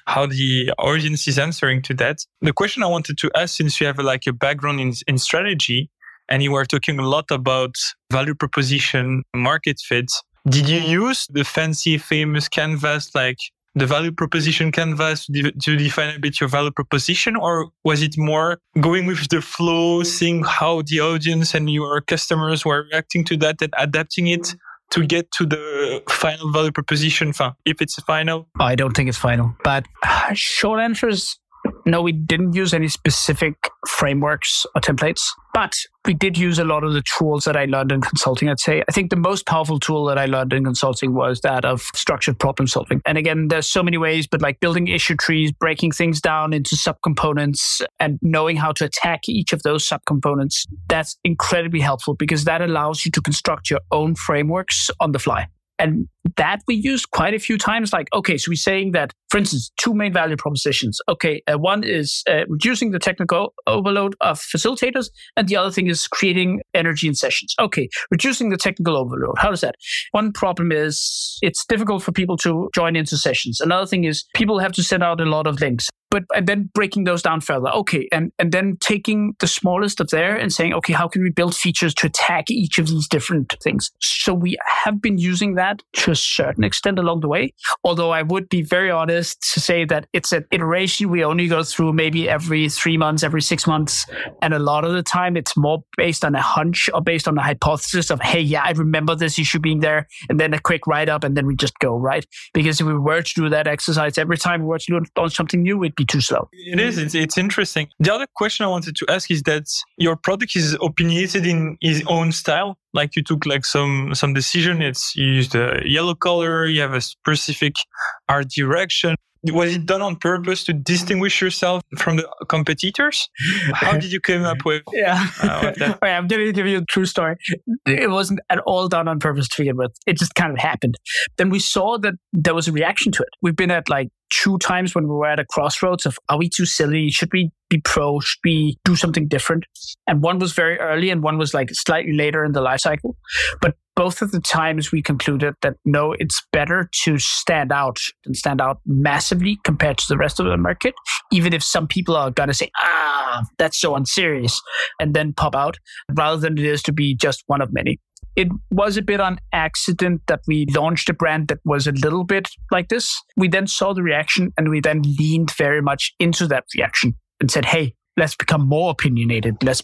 the audience is answering to that. The question I wanted to ask, since you have like a background in strategy, and you were talking a lot about value proposition, market fit. Did you use the fancy, famous canvas, like the value proposition canvas, to define a bit your value proposition? Or was it more going with the flow, seeing how the audience and your customers were reacting to that and adapting it to get to the final value proposition, if it's final? I don't think it's final. But short answer is no, we didn't use any specific frameworks or templates, but we did use a lot of the tools that I learned in consulting, I'd say. I think the most powerful tool that I learned in consulting was that of structured problem solving. And again, there's so many ways, but like building issue trees, breaking things down into subcomponents and knowing how to attack each of those subcomponents, that's incredibly helpful because that allows you to construct your own frameworks on the fly. And that we used quite a few times. Like, okay, so we're saying that, for instance, 2 main value propositions. Okay, one is reducing the technical overload of facilitators, and the other thing is creating energy in sessions. Okay, reducing the technical overload. How does that? One problem is it's difficult for people to join into sessions. Another thing is people have to send out a lot of links. And then breaking those down further. Okay, and then taking the smallest of there and saying, okay, how can we build features to attack each of these different things? So we have been using that to a certain extent along the way. Although I would be very honest to say that it's an iteration we only go through maybe every 3 months, every 6 months. And a lot of the time it's more based on a hunch or based on a hypothesis of, hey, yeah, I remember this issue being there. And then a quick write-up and then we just go, right? Because if we were to do that exercise every time we were to launch something new, it'd be too slow. It is. It's interesting. The other question I wanted to ask is that your product is opinionated in its own style. Like you took like some decision. You used a yellow color. You have a specific art direction. Was it done on purpose to distinguish yourself from the competitors? How did you come up with that? Okay, I'm going to give you a true story. It wasn't at all done on purpose to begin with. It just kind of happened. Then we saw that there was a reaction to it. We've been at like 2 times when we were at a crossroads of, are we too silly? Should we be pro? Should we do something different? And one was very early and one was like slightly later in the life cycle. But both of the times we concluded that no, it's better to stand out and stand out massively compared to the rest of the market, even if some people are going to say, that's so unserious, and then pop out, rather than it is to be just one of many. It was a bit on accident that we launched a brand that was a little bit like this. We then saw the reaction and we then leaned very much into that reaction and said, hey, let's become more opinionated. Let's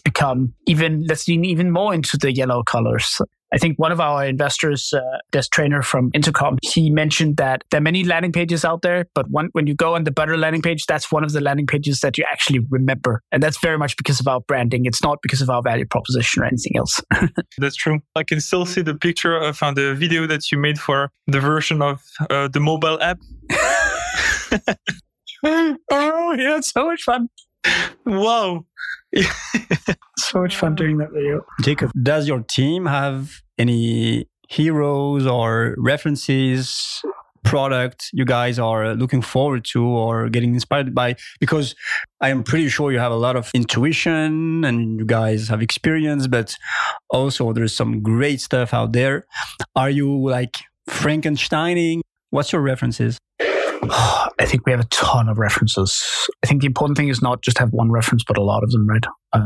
lean even more into the yellow colors. I think one of our investors, Des Trainer from Intercom, he mentioned that there are many landing pages out there, but when you go on the Butter landing page, that's one of the landing pages that you actually remember. And that's very much because of our branding. It's not because of our value proposition or anything else. That's true. I can still see the picture of the video that you made for the version of the mobile app. Oh, yeah, it's so much fun. Wow. So much fun doing that video. Jacob, does your team have any heroes or references, product you guys are looking forward to or getting inspired by? Because I am pretty sure you have a lot of intuition and you guys have experience, but also there's some great stuff out there. Are you like Frankensteining? What's your references? I think we have a ton of references. I think the important thing is not just have one reference, but a lot of them, right?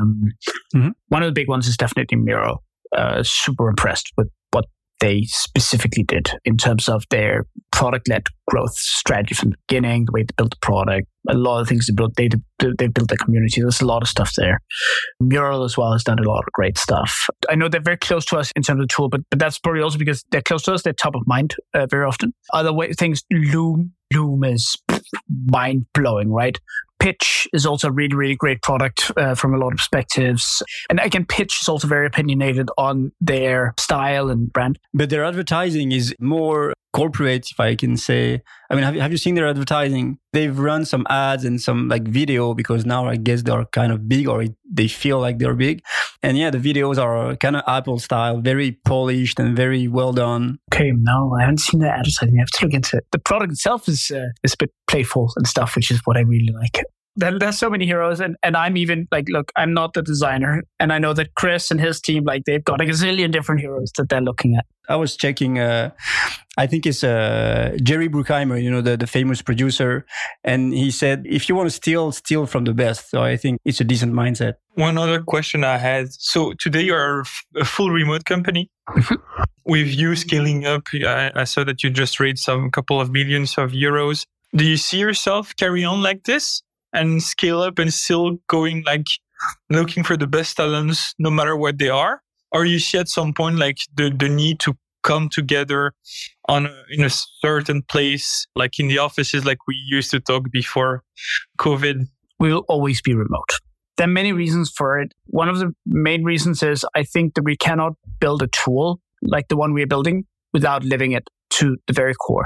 One of the big ones is definitely Miro. Super impressed with what they specifically did in terms of their product-led growth strategy from the beginning, the way they built the product, a lot of things they built. They built their community. There's a lot of stuff there. Mural as well has done a lot of great stuff. I know they're very close to us in terms of the tool, but that's probably also because they're close to us. They're top of mind very often. Other things, Loom is mind-blowing, right? Pitch is also a really, really great product from a lot of perspectives. And again, Pitch is also very opinionated on their style and brand. But their advertising is more corporate, if I can say. I mean, have you seen their advertising? They've run some ads and some like video because now I guess they're kind of big or they feel like they're big. And yeah, the videos are kind of Apple style, very polished and very well done. Okay, no, I haven't seen the advertising. I have to look into it. The product itself is a bit playful and stuff, which is what I really like. There's so many heroes, and I'm even like, look, I'm not the designer, and I know that Chris and his team, like, they've got a gazillion different heroes that they're looking at. I was checking, I think it's Jerry Bruckheimer, the famous producer, and he said, if you want to steal from the best. So I think it's a decent mindset. One other question I had. So today you're a full remote company. With you scaling up, I saw that you just raised some couple of millions of euros. Do you see yourself carry on like this and scale up and still going like looking for the best talents no matter what they are? Or you see at some point like the need to come together in a certain place, like in the offices like we used to talk before COVID? We will always be remote. There are many reasons for it. One of the main reasons is I think that we cannot build a tool like the one we are building without living it to the very core.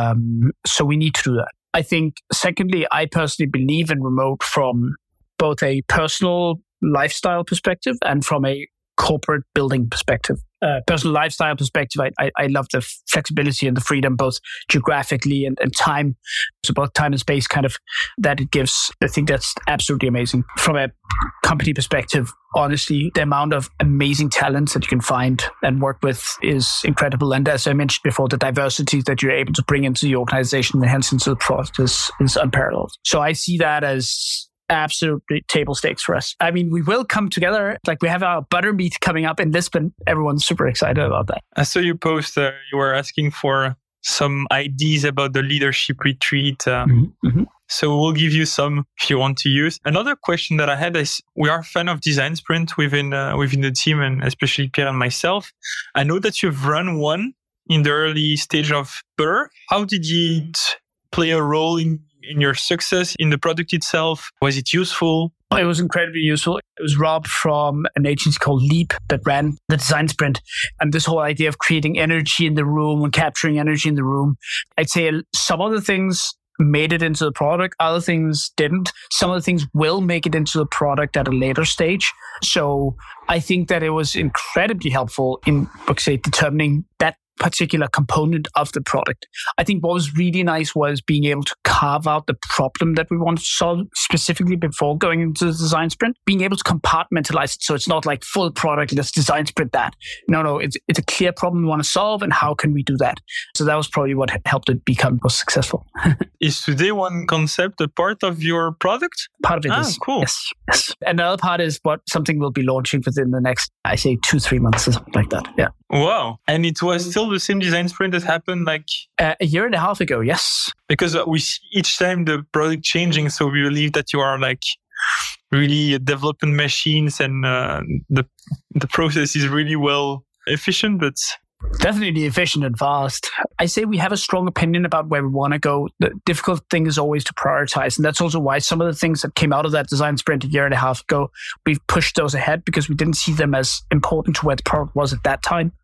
So we need to do that. I think, secondly, I personally believe in remote from both a personal lifestyle perspective and from a corporate building perspective. Personal lifestyle perspective, I love the flexibility and the freedom, both geographically and time. So both time and space kind of that it gives. I think that's absolutely amazing. From a company perspective, honestly, the amount of amazing talents that you can find and work with is incredible. And as I mentioned before, the diversity that you're able to bring into the organization and hence into the product is unparalleled. So I see that as absolutely table stakes for us. I mean, we will come together. Like we have our butter meet coming up in Lisbon. Everyone's super excited about that. I saw you post, you were asking for some ideas about the leadership retreat. So we'll give you some if you want to use. Another question that I had is, we are a fan of Design Sprint within the team, and especially Pierre and myself. I know that you've run one in the early stage of Butter. How did it play a role in your success in the product itself? Was it useful? It was incredibly useful. It was Rob from an agency called Leap that ran the Design Sprint. And this whole idea of creating energy in the room and capturing energy in the room. I'd say some of the things made it into the product. Other things didn't. Some of the things will make it into the product at a later stage. So I think that it was incredibly helpful in, say, determining that particular component of the product. I think what was really nice was being able to carve out the problem that we want to solve specifically before going into the design sprint, being able to compartmentalize it. So it's not like full product, let's design sprint that. No, it's a clear problem we want to solve and how can we do that? So that was probably what helped it become most successful. Is today one concept a part of your product? Part of it is. Cool. Yes. Another part is something we'll be launching within the next, I say 2-3 months or something like that. Yeah. Wow. And it was still the same design sprint that happened like a year and a half ago. Yes. Because we see each time the product changing. So we believe that you are like really developing machines and the process is really well efficient, but definitely efficient and fast. I say we have a strong opinion about where we want to go. The difficult thing is always to prioritize. And that's also why some of the things that came out of that design sprint a year and a half ago, we've pushed those ahead because we didn't see them as important to where the product was at that time.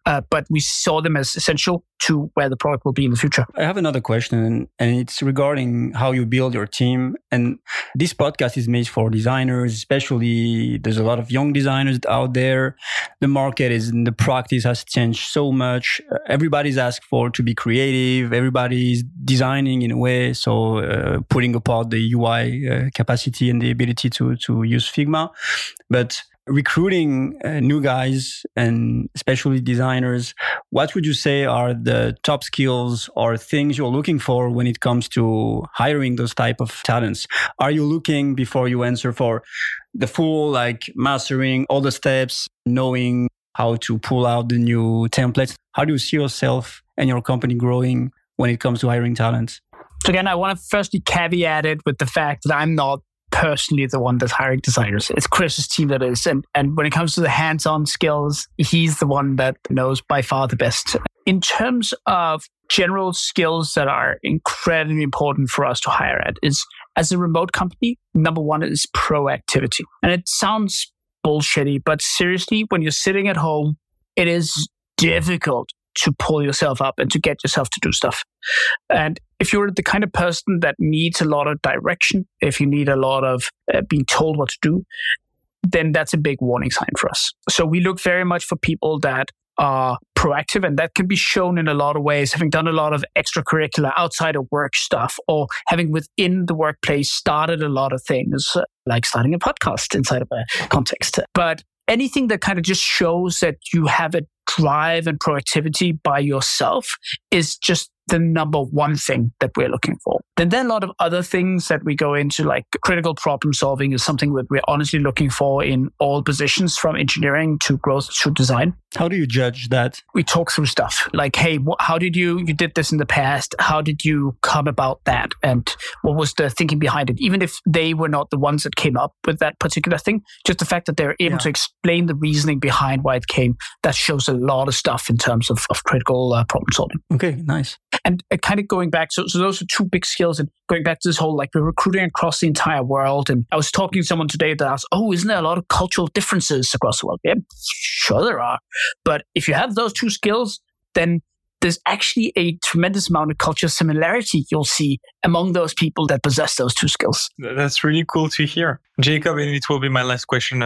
but we saw them as essential to where the product will be in the future. I have another question, and it's regarding how you build your team. And this podcast is made for designers, especially there's a lot of young designers out there. The market the practice has changed so much. Everybody's asked for to be creative. Everybody's designing in a way. So putting apart the UI capacity and the ability to use Figma. But recruiting new guys and especially designers, what would you say are the top skills or things you're looking for when it comes to hiring those type of talents? Are you looking, before you answer, for the full mastering all the steps, knowing how to pull out the new templates? How do you see yourself and your company growing when it comes to hiring talents? So again, I want to firstly caveat it with the fact that I'm not personally the one that's hiring designers. It's Chris's team that is. And when it comes to the hands-on skills, he's the one that knows by far the best. In terms of general skills that are incredibly important for us to hire at is, as a remote company, number one is proactivity. And it sounds bullshitty, but seriously, when you're sitting at home, it is difficult to pull yourself up and to get yourself to do stuff. And if you're the kind of person that needs a lot of direction, if you need a lot of being told what to do, then that's a big warning sign for us. So we look very much for people that are proactive, and that can be shown in a lot of ways, having done a lot of extracurricular outside of work stuff, or having within the workplace started a lot of things, like starting a podcast inside of a context. But anything that kind of just shows that you have a drive and proactivity by yourself is just the number one thing that we're looking for. Then there are a lot of other things that we go into, like critical problem solving is something that we're honestly looking for in all positions, from engineering to growth to design. How do you judge that? We talk through stuff like, hey, how did you did this in the past? How did you come about that? And what was the thinking behind it? Even if they were not the ones that came up with that particular thing, just the fact that they're able to explain the reasoning behind why it came, that shows a lot of stuff in terms of critical problem solving. Okay, nice. And kind of going back, so those are two big skills. And going back to this whole, we're recruiting across the entire world. And I was talking to someone today that asked, isn't there a lot of cultural differences across the world? Yeah, sure there are. But if you have those two skills, then there's actually a tremendous amount of cultural similarity you'll see among those people that possess those two skills. That's really cool to hear. Jacob, and it will be my last question.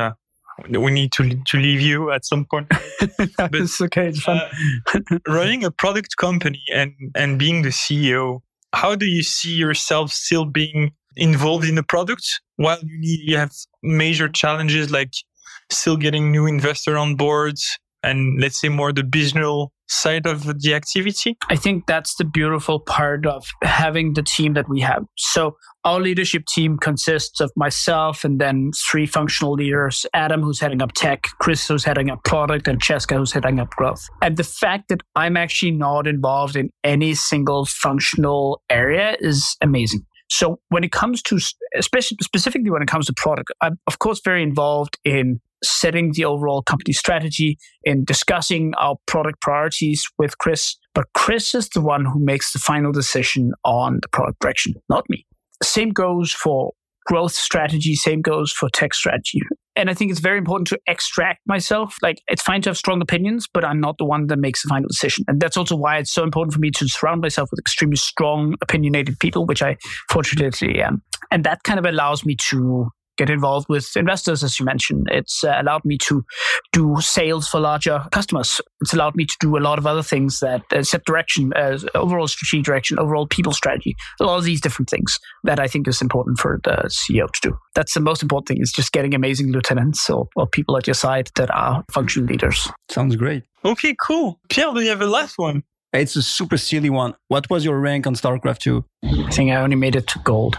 We need to leave you at some point. But it's okay, it's fun. Running a product company and being the CEO, how do you see yourself still being involved in the product while you have major challenges like still getting new investor on board and, let's say, more the business side of the activity? I think that's the beautiful part of having the team that we have. So our leadership team consists of myself and then 3 functional leaders, Adam, who's heading up tech, Chris, who's heading up product, and Cheska, who's heading up growth. And the fact that I'm actually not involved in any single functional area is amazing. So when it comes to, specifically when it comes to product, I'm of course very involved in setting the overall company strategy, in discussing our product priorities with Chris. But Chris is the one who makes the final decision on the product direction, not me. Same goes for growth strategy, same goes for tech strategy. And I think it's very important to extract myself. It's fine to have strong opinions, but I'm not the one that makes the final decision. And that's also why it's so important for me to surround myself with extremely strong, opinionated people, which I fortunately am. And that kind of allows me to get involved with investors, as you mentioned. It's allowed me to do sales for larger customers. It's allowed me to do a lot of other things that set direction, overall strategic direction, overall people strategy, a lot of these different things that I think is important for the CEO to do. That's the most important thing, is just getting amazing lieutenants or people at your side that are functional leaders. Sounds great. Okay, cool. Pierre, do you have a last one? It's a super silly one. What was your rank on StarCraft 2? I think I only made it to gold.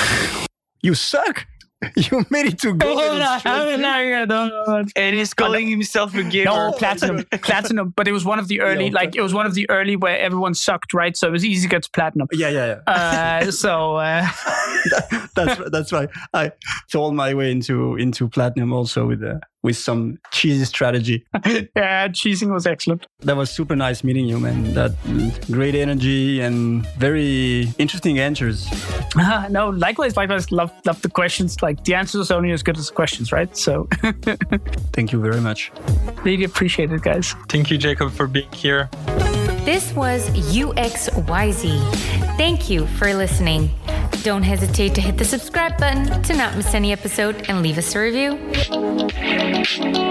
You suck! You made it to gold. And he's calling himself a gamer. No, platinum. But it was one of the early, it was one of the early where everyone sucked, right? So it was easy to get to platinum. Yeah. That's right. I sold my way into platinum also with with some cheesy strategy. Yeah, cheesing was excellent. That was super nice meeting you, man. That great energy and very interesting answers. No, likewise. Love the questions. Like the answers are only as good as the questions, right? So thank you very much. Really appreciate it, guys. Thank you, Jacob, for being here. This was UXYZ. Thank you for listening. Don't hesitate to hit the subscribe button to not miss any episode and leave us a review.